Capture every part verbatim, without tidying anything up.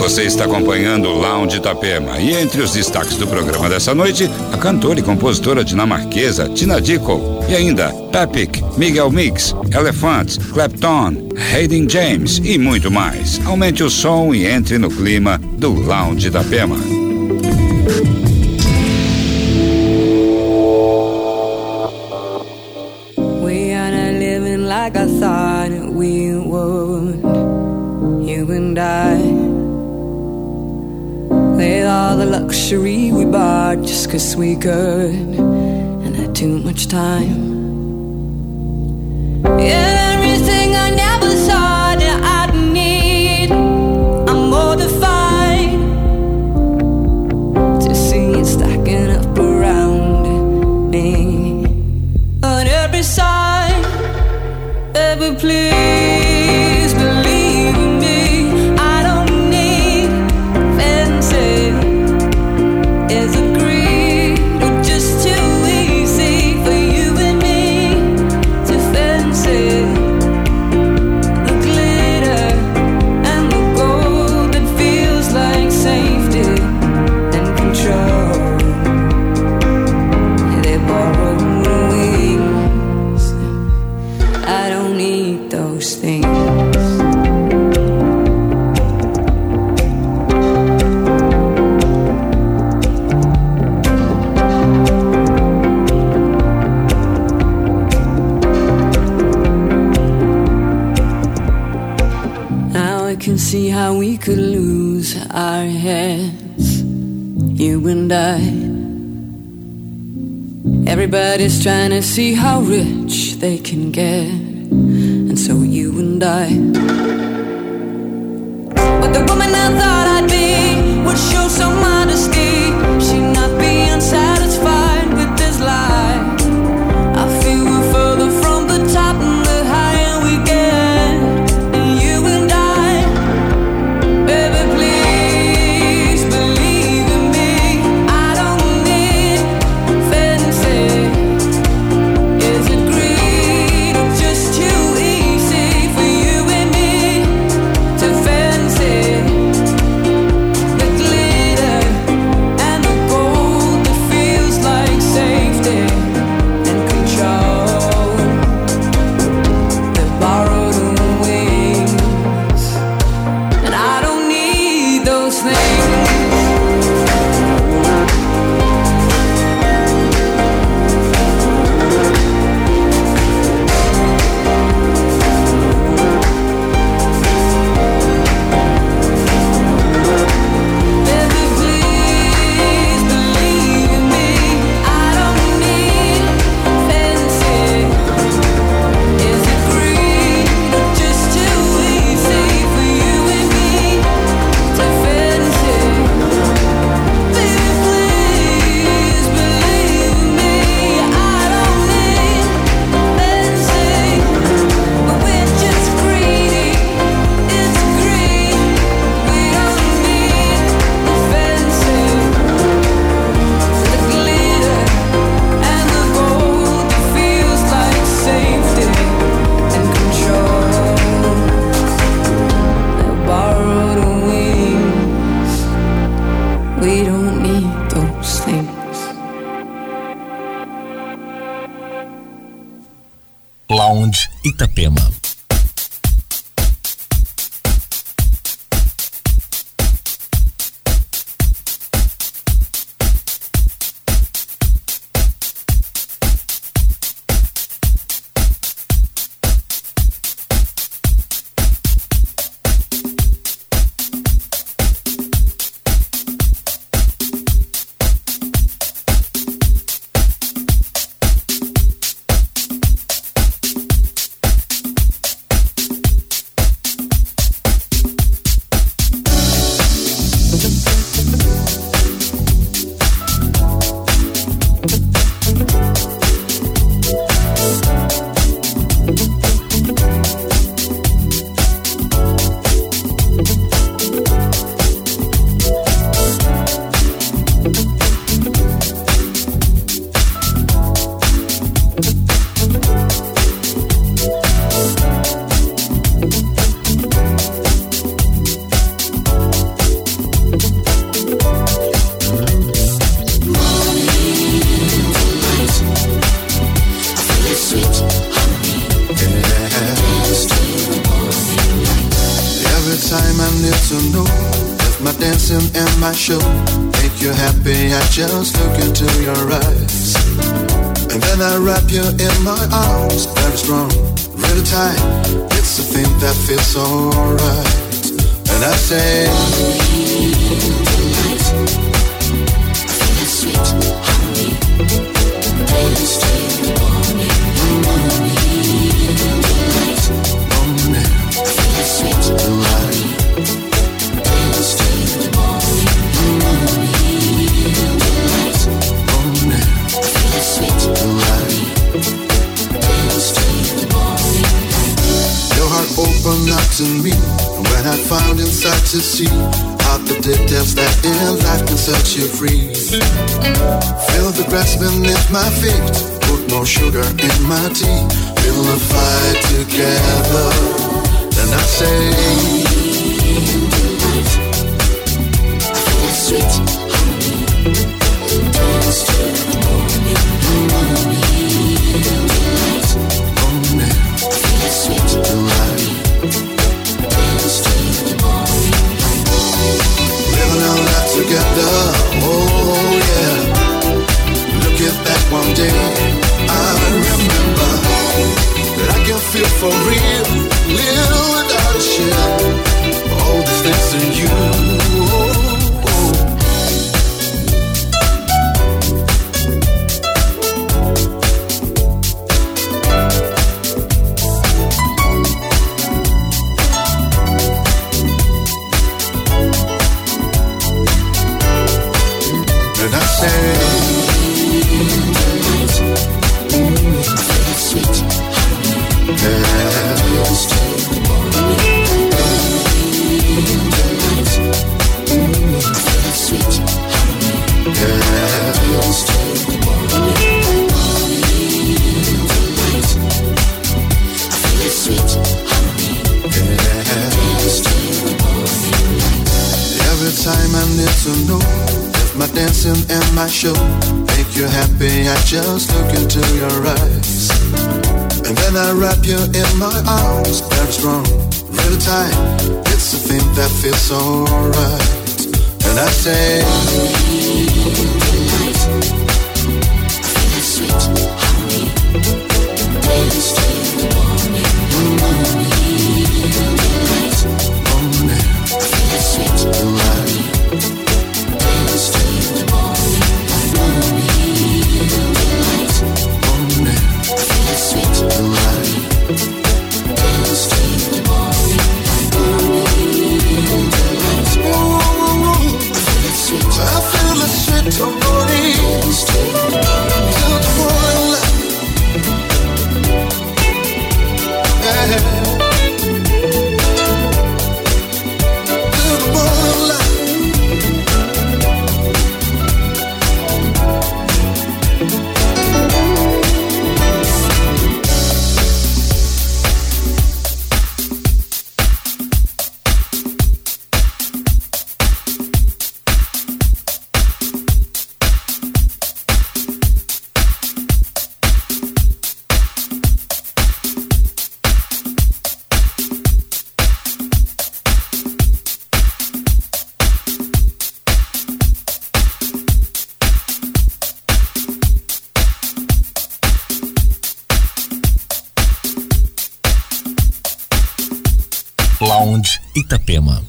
Você está acompanhando o Lounge Itapema e entre os destaques do programa dessa noite, a cantora e compositora dinamarquesa Tina Dickow e ainda Epic, Miguel Mix, Elephant, Clapton, Hayden James e muito mais. Aumente o som e entre no clima do Lounge Itapema. We are not living like I thought we would, you and I. With all the luxury we bought just 'cause we could and had too much time. And everything I never thought that I'd need, I'm mortified to see it stacking up around me on every side. Ever please believe in me, I don't need fancy. Is it greed or just too easy for you and me to fancy the glitter and the gold that feels like safety and control? They borrow wings, I don't need those things. Now I can see how we could lose our heads, you and I. Everybody's trying to see how rich they can get, and so you and I. But the woman I thought I'd be would show some modesty. She'd not be unsatisfied with this life. I feel we're further from the top and the higher we get. And you and I, baby, please believe in me. I don't need fancy. Is it greed or just too easy for you and me to fancy the glitter and the gold that feels like safety and control? The borrowed wings, and I don't need those things. Baby, please believe in me. I don't need fancy. Is it greed or just too easy for you and me to fancy? Baby, please believe in me. I don't need fancy, but we're just greedy. It's greed. We don't need the fancy, the glitter and the gold that feels like safety and control. The borrowed wings. We don't need those things. Lounge Itapema. time I need to know if my dancing and my show make you happy. I just look into your eyes, and then I wrap you in my arms, very strong, really tight. It's a thing that feels so right. And I say, tonight, I feel that sweet harmony, dance till the morning, morning, tonight, morning, I feel that sweet harmony, dance till the morning, morning, tonight, morning, I feel that sweet harmony, dance till the morning. Your heart opened up to me when I found inside to see out the details that in life can set you free. Feel the grass beneath my feet, put more sugar in my tea. We'll fight together. Then I say, tonight, I feel that sweet harmony, dance till the morning, morning, tonight, morning, I feel that sweet harmony, dance till the morning. Living our life together, oh yeah. Looking back one day, I remember that I can feel for real, live without a shame. All these things in you, oh, oh. And I say, tonight, I feel that sweet harmony, dance till the morning, tonight, I feel that sweet harmony, dance till the morning, tonight, I feel that sweet harmony, dance till the morning. Every time I need to know if my dancing and my show make you happy, I just look into your eyes, and then I wrap you in my arms, very strong, really tight. It's a thing that feels so right. And I say, tonight, I feel that sweet harmony, dance till the morning, morning, tonight, morning, I feel that sweet harmony, dance till the morning, morning, tonight, morning, I feel that sweet harmony, dance till the morning, morning, tonight, oh, I feel that sweet, I feel that sweet harmony, dance till the morning, till the morning light, yeah. Till the morning light. Lounge Itapema.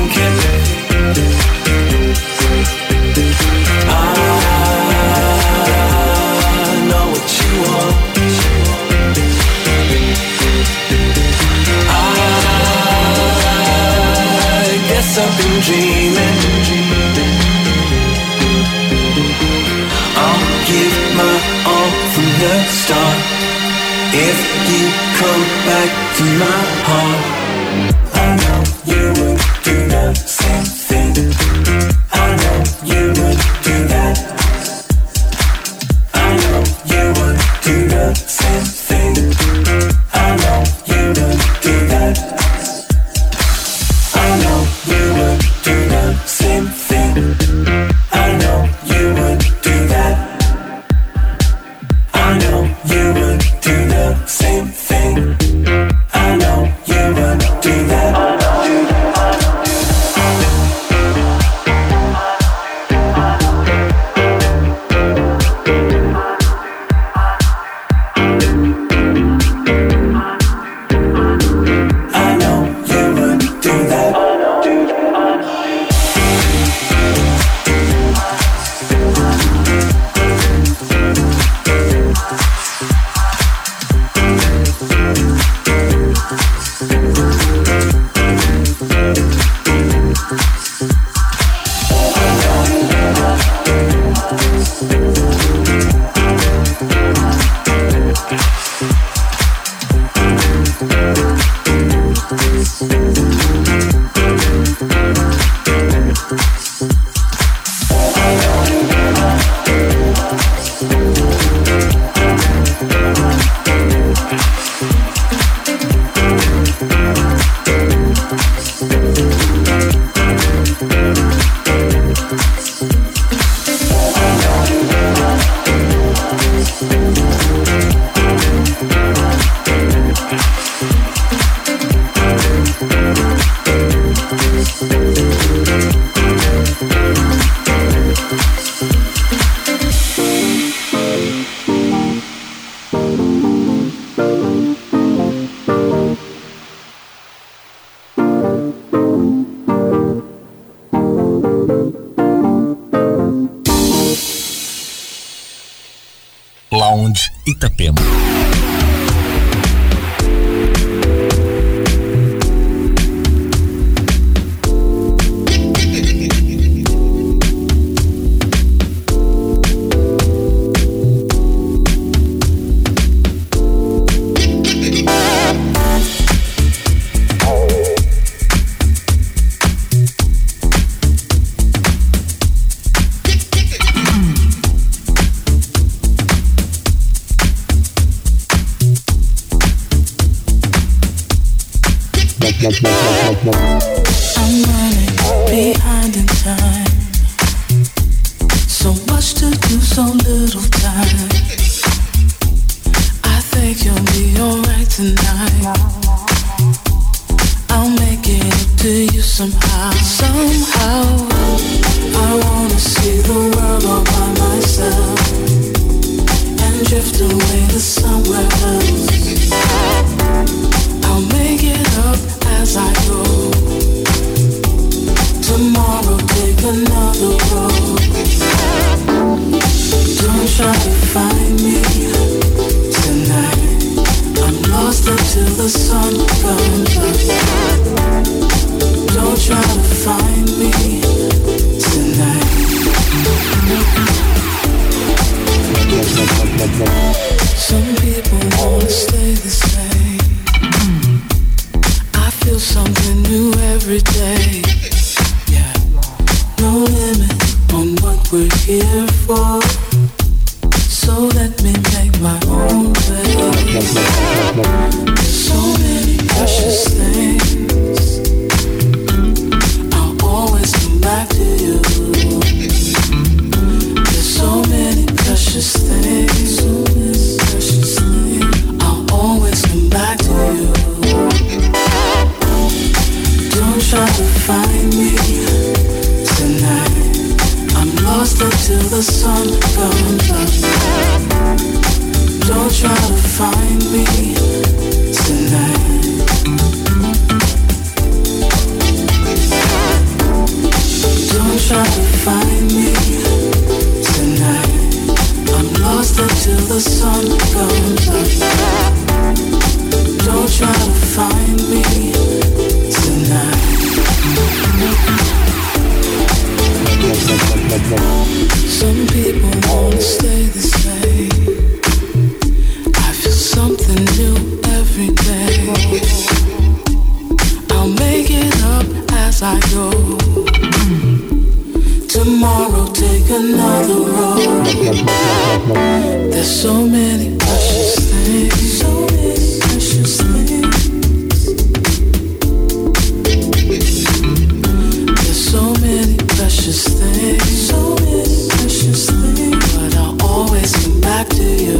I've been dreaming. I'll give my all from the start. If you come back to my heart, I know you would do the same thing. I know you would do that. I know you would do the same thing. I know you would do that. I know you would do the same thing. I know you would do that. I know you would do the same thing. I know you would do that. Lounge Itapema. I'm running behind in time. So much to do, so little time. I think you'll be alright tonight. I'll make it up to you somehow. Somehow I wanna see the world all by myself and drift away to somewhere else. I'll make it up as I go. Tomorrow take another road. Don't try to find me tonight. I'm lost until the sun comes up. Don't try to find me tonight. Some people wanna stay the same. I feel something new every day. Yeah, no limit on what we're here for. So let me make my own way. There's so many precious things. I'll always come back to you. There's so many precious things. So many precious things. I'll always come back to you. Don't try to find me tonight. I'm lost until the sun comes up. Don't try to find me tonight. try to find me tonight. I'm lost until the sun comes up. Don't try to find me tonight. Some people wanna stay the same. I feel something new every day. I'll make it up as I go. Tomorrow take another road. There's so many precious things, so many precious things. There's so many precious things, so many precious things. But I'll always come back to you.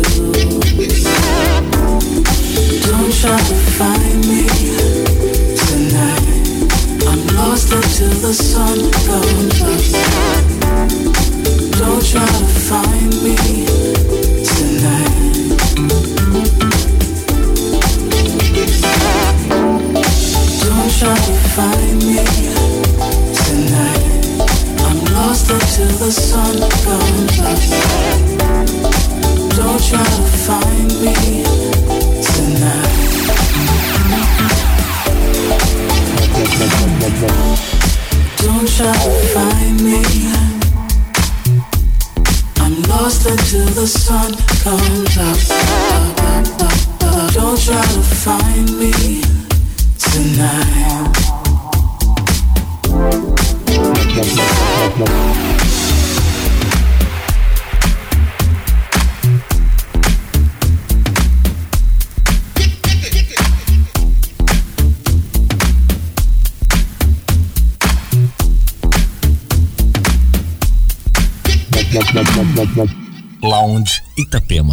Don't try to find me tonight. I'm lost until the sun comes up. Don't try to find me tonight. Don't try to find me tonight. I'm lost until the sun comes up. Don't try to find me tonight. Don't try to find me. I'm lost until the sun comes up. Don't try to find me tonight. Lounge Itapema.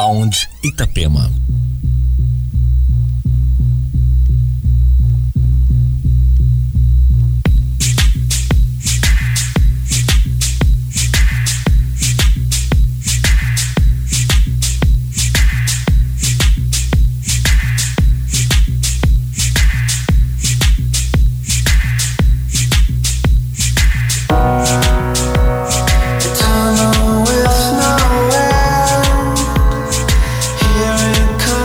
Lounge Itapema. Tunnel with no end. Here it comes.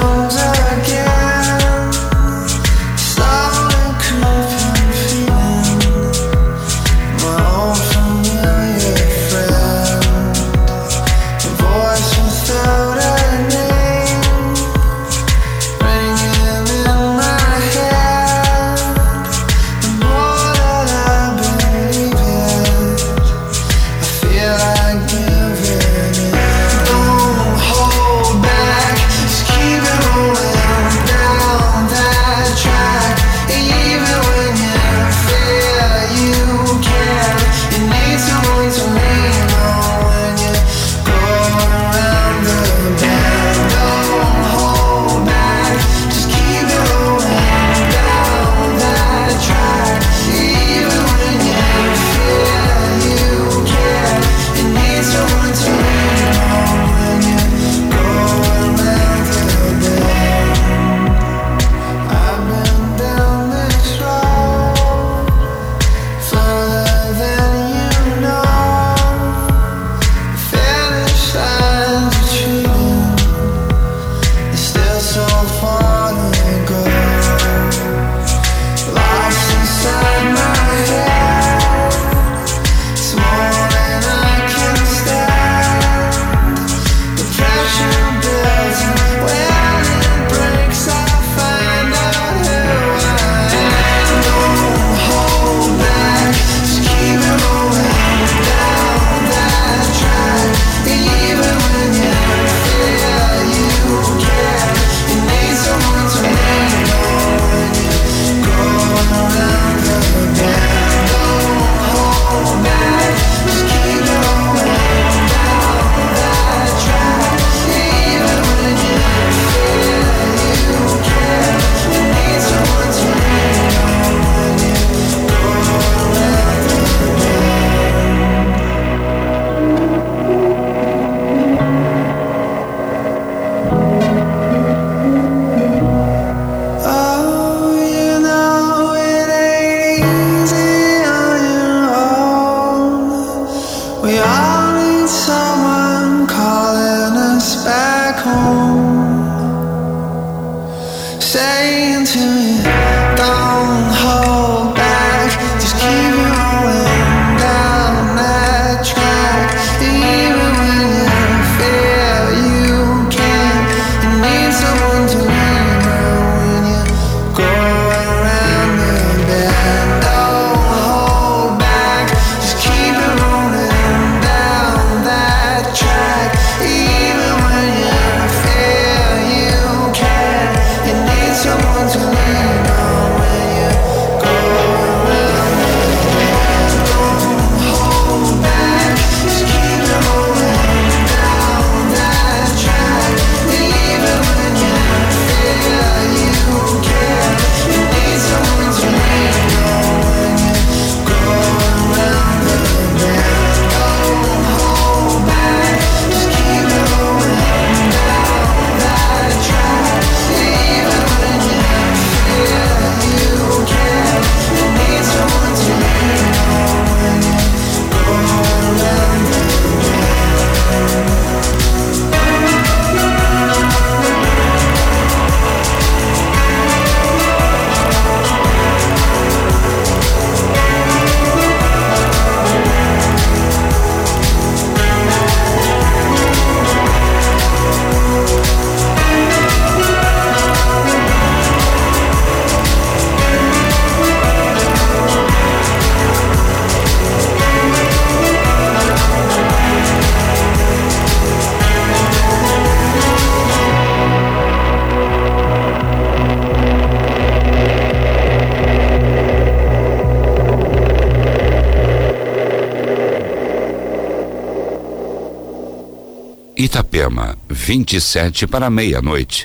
Itapema, vinte e sete para meia-noite.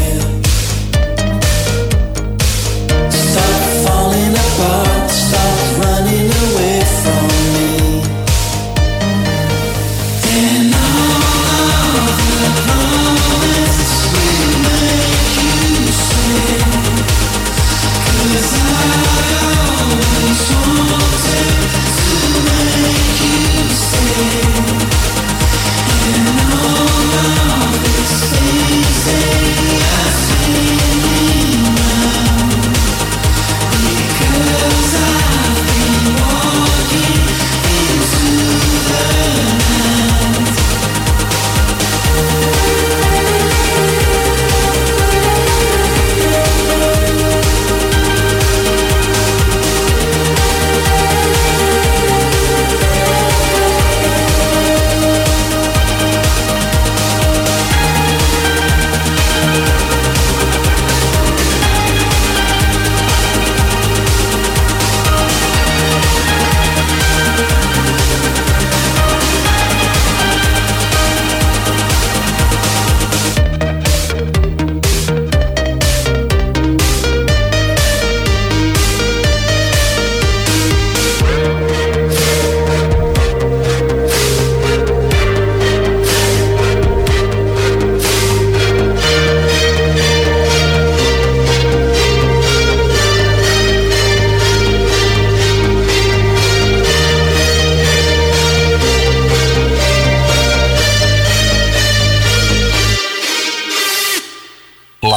Stop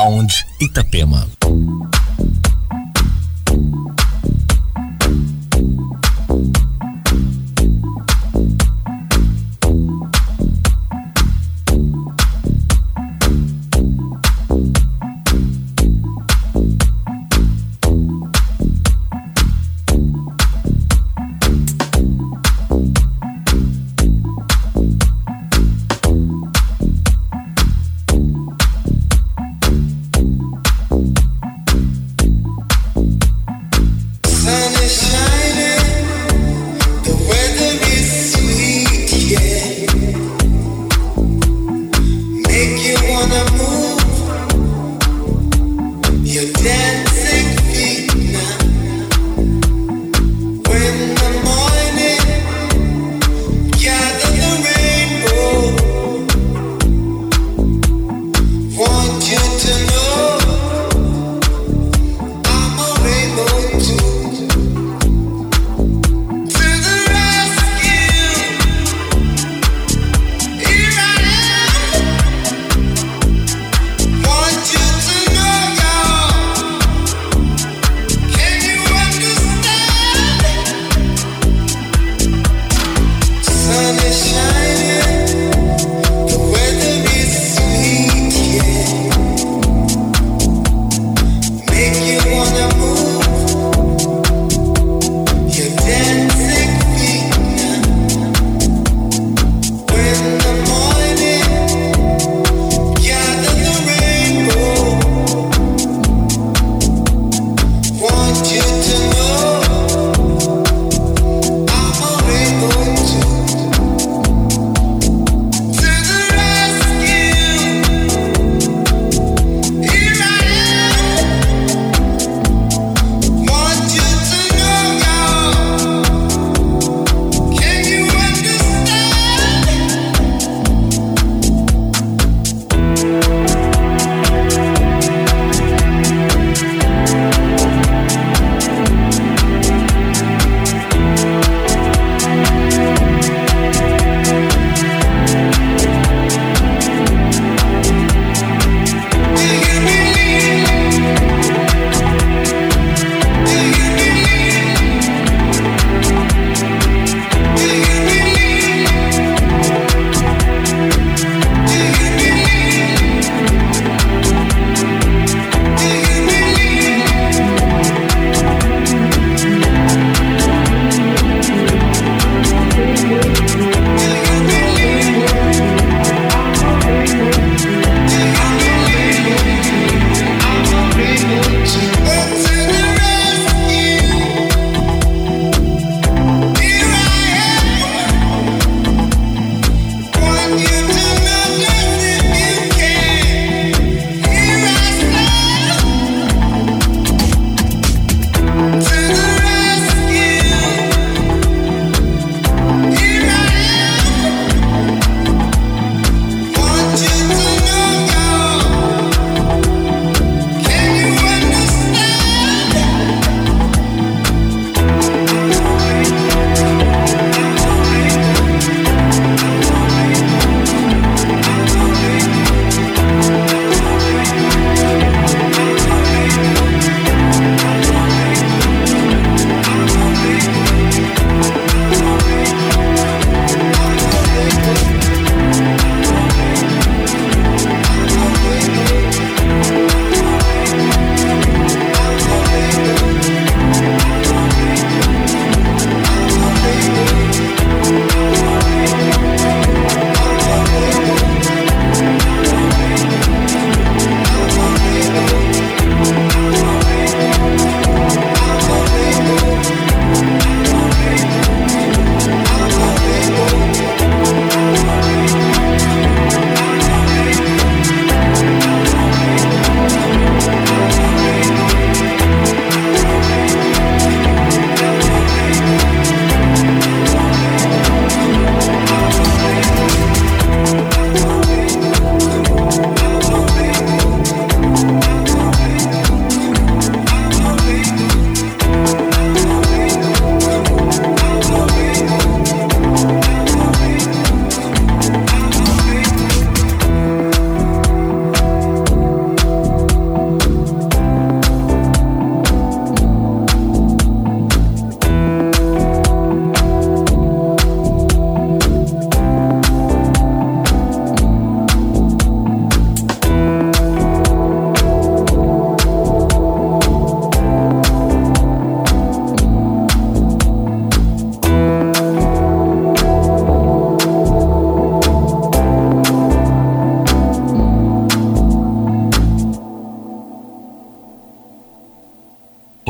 Lounge Itapema.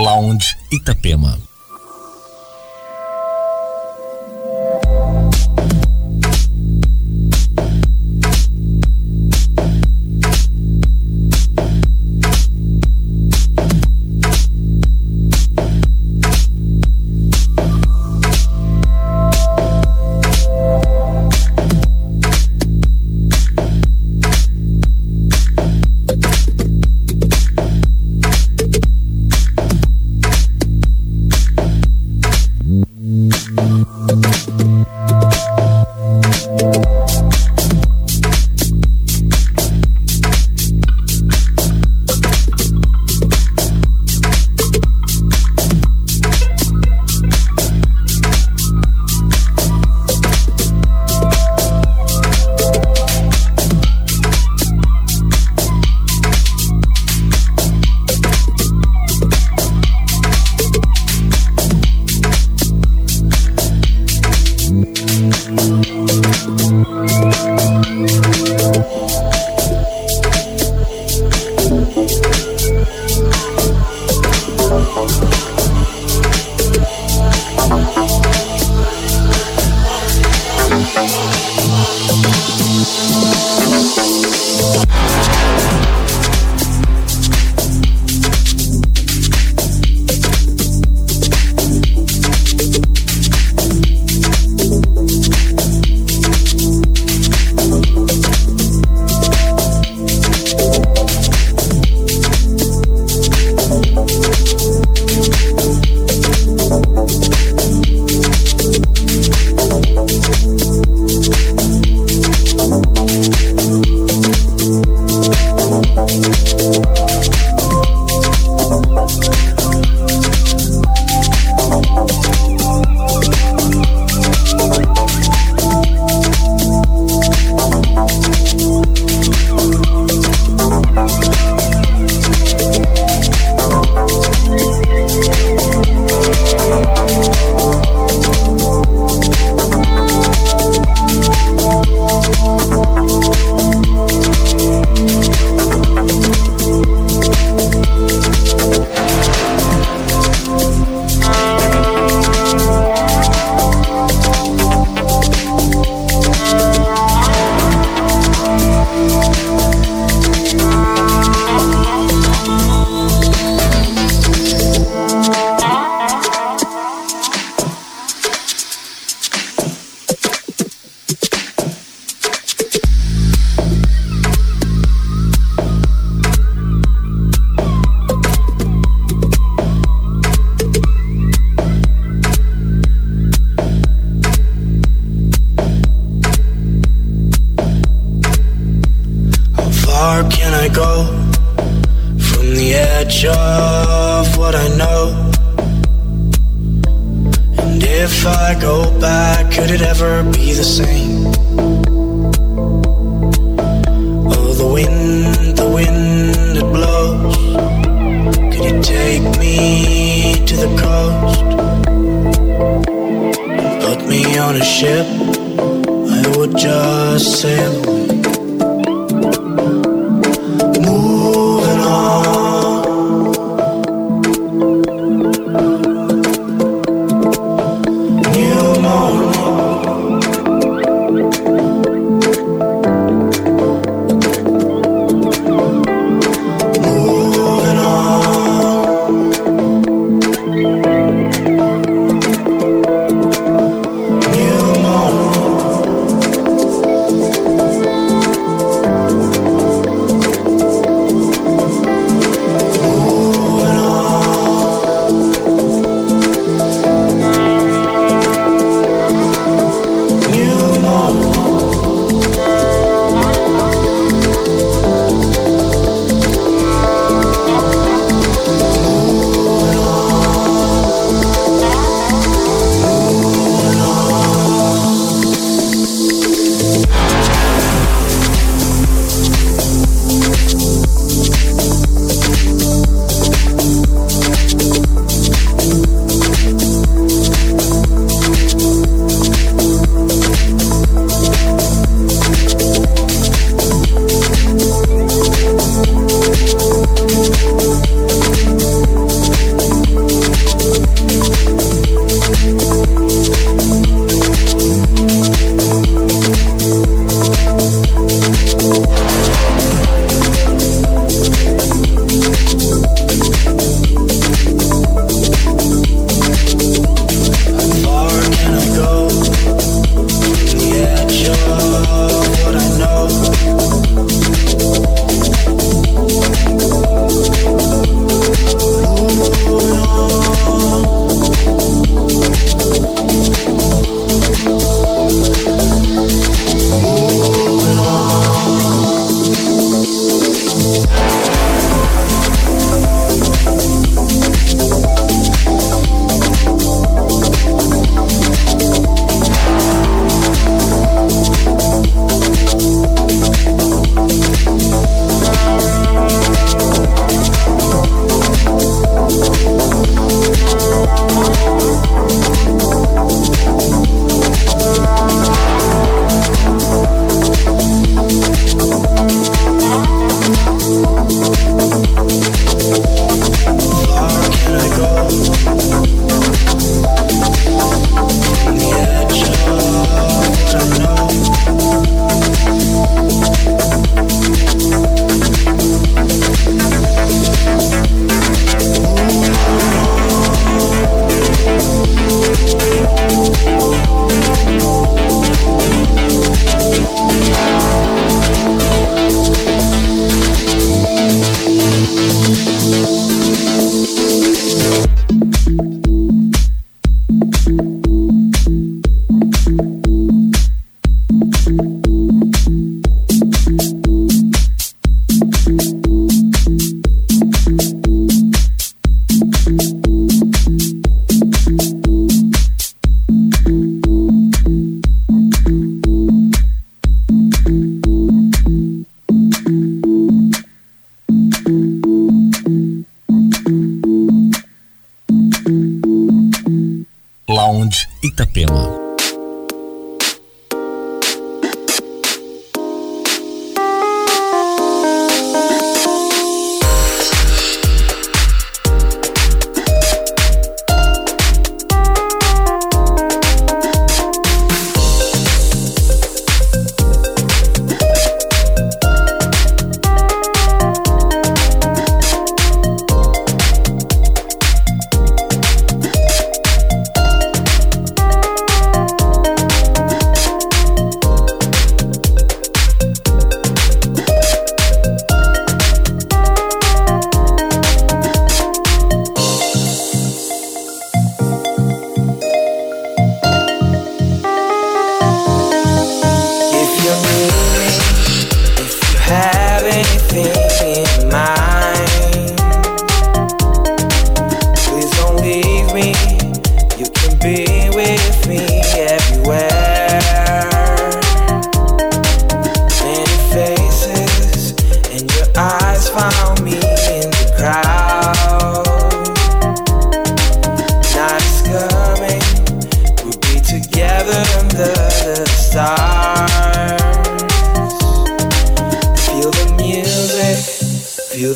Lounge Itapema. New morning.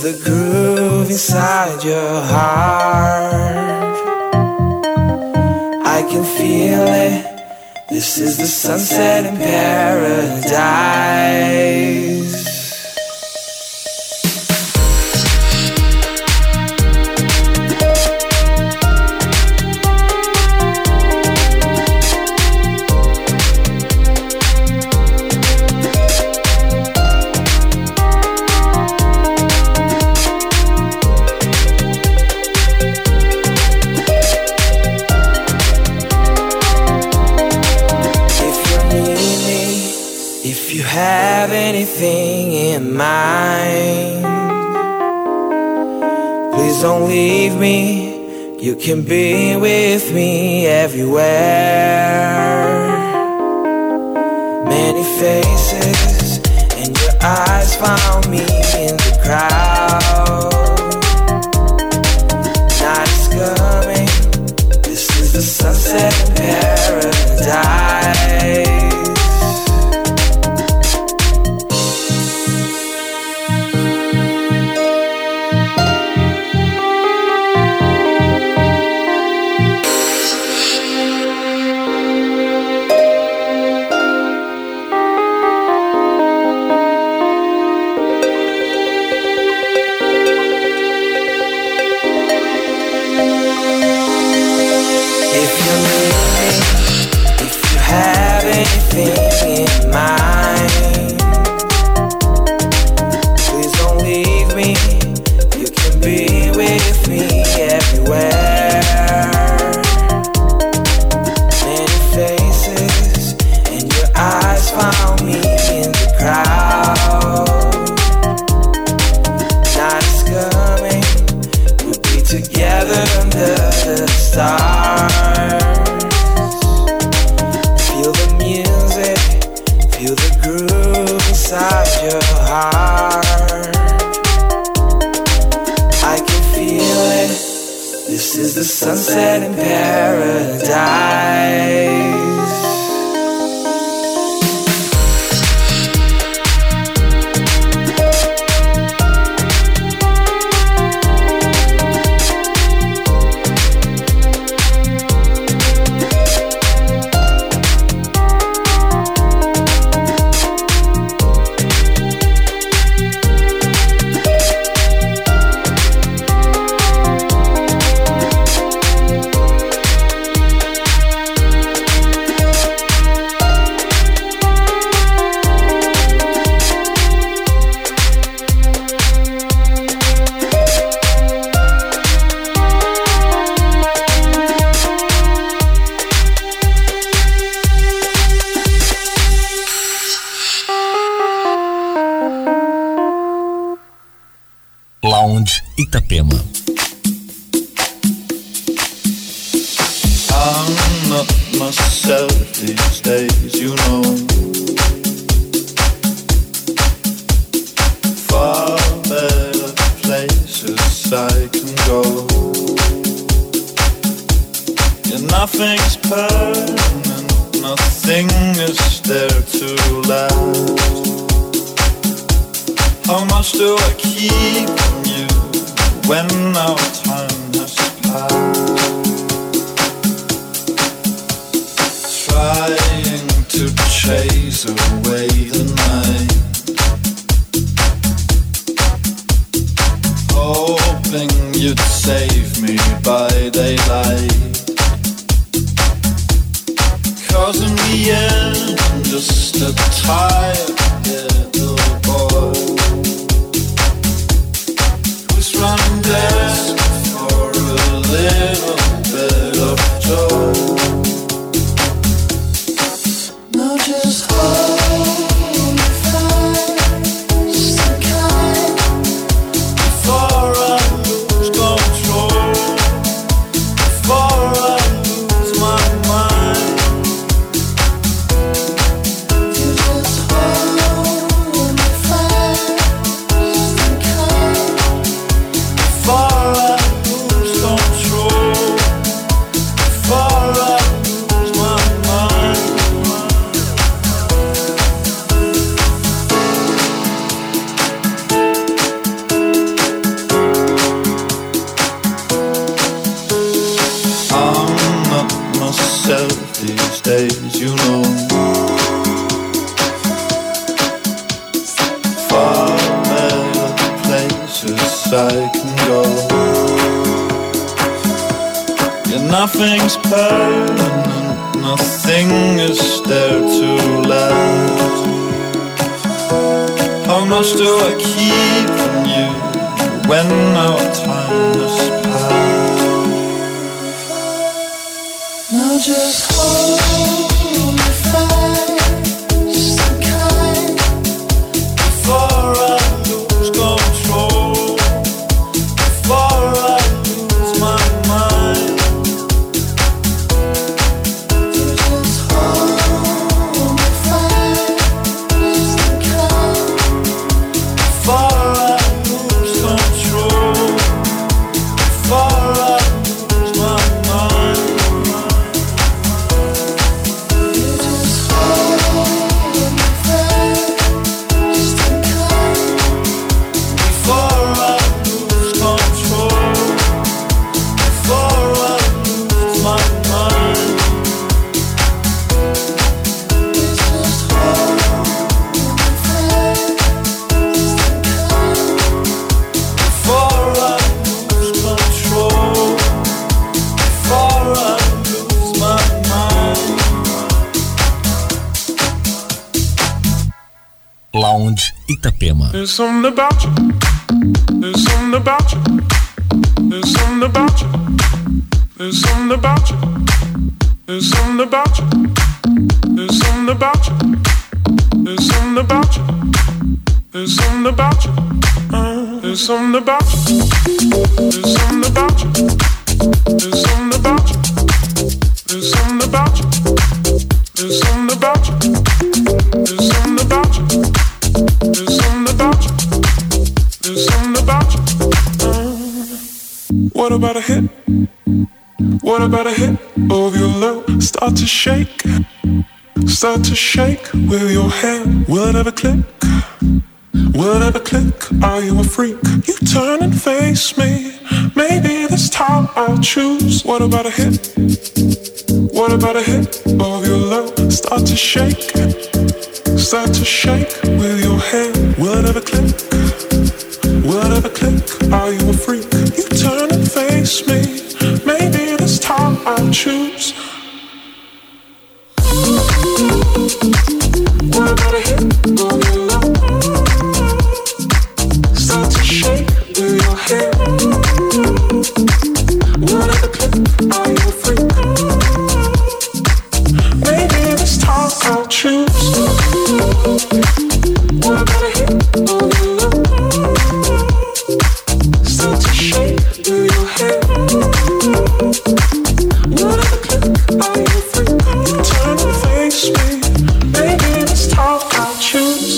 the groove inside your heart. I can feel it. This is the sunset in paradise. Have anything in mind, please don't leave me. You can be with me everywhere. Many faces and your eyes found me in the crowd. Night is coming. This is the sunset in paradise. Anything in mind, please don't leave me. You can be with me everywhere. Many faces and your eyes found me in the crowd. Night is coming. We'll be together under the stars. Feel the groove inside your heart. I can feel it. This is the sunset in paradise. Lounge Itapema. I'm not myself these days, you know. Far better places I can go. Yeah, nothing's permanent, nothing is there to last. How much do I keep from you when our time has passed? Trying to chase away the night, hoping you'd save me by daylight. 'Cause in the end I'm just a tired little boy running desperate for a little bit of joy. Now just hold me fast again before I lose control, before I lose my mind. You just hold me fast. myself these days, you know. Far better places I can go. Yeah, nothing's permanent, nothing is there to last. How much do I keep from you when our time has passed? Now just hold me fast and kind before I lose control, before I lose my mind. Just hold me fast and kind before I lose control, before I lose my mind. Lounge Itapema. There's something about you. There's something about you. There's something about you. There's something about you. There's something about you. There's something about you. There's something about you. There's something about you. Uh, there's something about you. There's something about you. There's something about you. There's something about you. There's something about you. There's something about you. There's something about you. There's something about you. Uh, what about a hit? What about a hit of your love? Start to shake. Start to shake with your hand. Will it ever click? Will it ever click? Are you a freak? You turn and face me. Maybe this time I'll choose. What about a hit? What about a hit of your love? Start to shake. Start to shake with your hand. Will it ever click? Will it ever click? Are you a freak? You turn and face me. Maybe this time I'll choose. What about a hit of your love? Start to shake with your hand. Will it ever click? Are you a freak? Maybe this time I'll choose. What about a hit of your love? Start to shake with your hand. Will it ever click? Are you a freak? You turn and face me. Maybe this time I'll choose.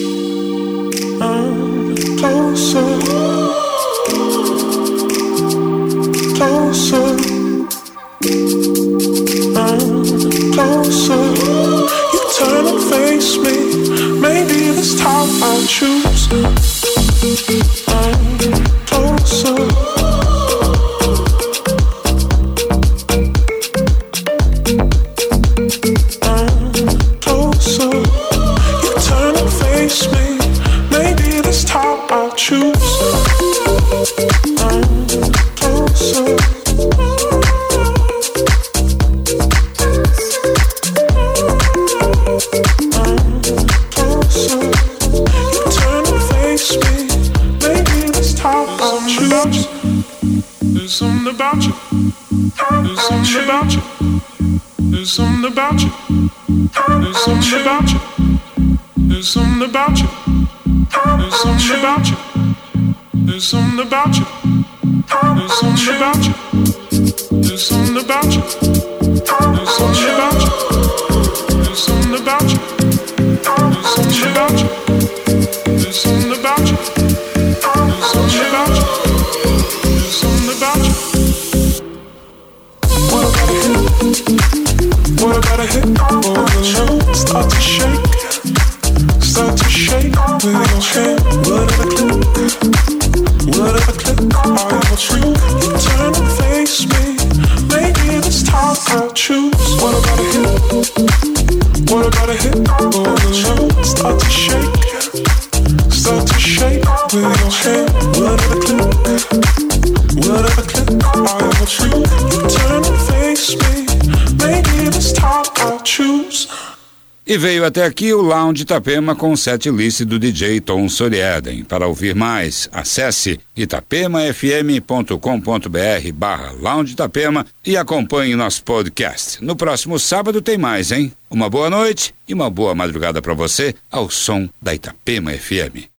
I'm closer, closer. I'm closer. You turn and face me. Maybe this time I'll choose. I'm closer. I'm closer. You turn and face me. Maybe this time I'll choose. I'm closer. There's something about you. There's something about you. There's something about you. There's something about you. There's something about you. There's something about you. There's something about you. There's something about you. There's something about you. There's something about you. There's something about you. There's something about you. There's something about you. There's something about you. There's something about you. What about a hit? What about a hit? Oh, your love start to shake. Start to shake with your hand. Whatever click, whatever click. Are you a freak? You turn and face me. Maybe this time I'll choose. are your hand? What are the clue? What are the clue? Are you true? You turn and face me. Maybe this time I'll choose. E veio até aqui o Lounge Itapema com o set list do D J Tom Soriaden. Para ouvir mais, acesse itapemafm.com.br barra Lounge Itapema e acompanhe nosso podcast. No próximo sábado tem mais, hein? Uma boa noite e uma boa madrugada para você ao som da Itapema F M.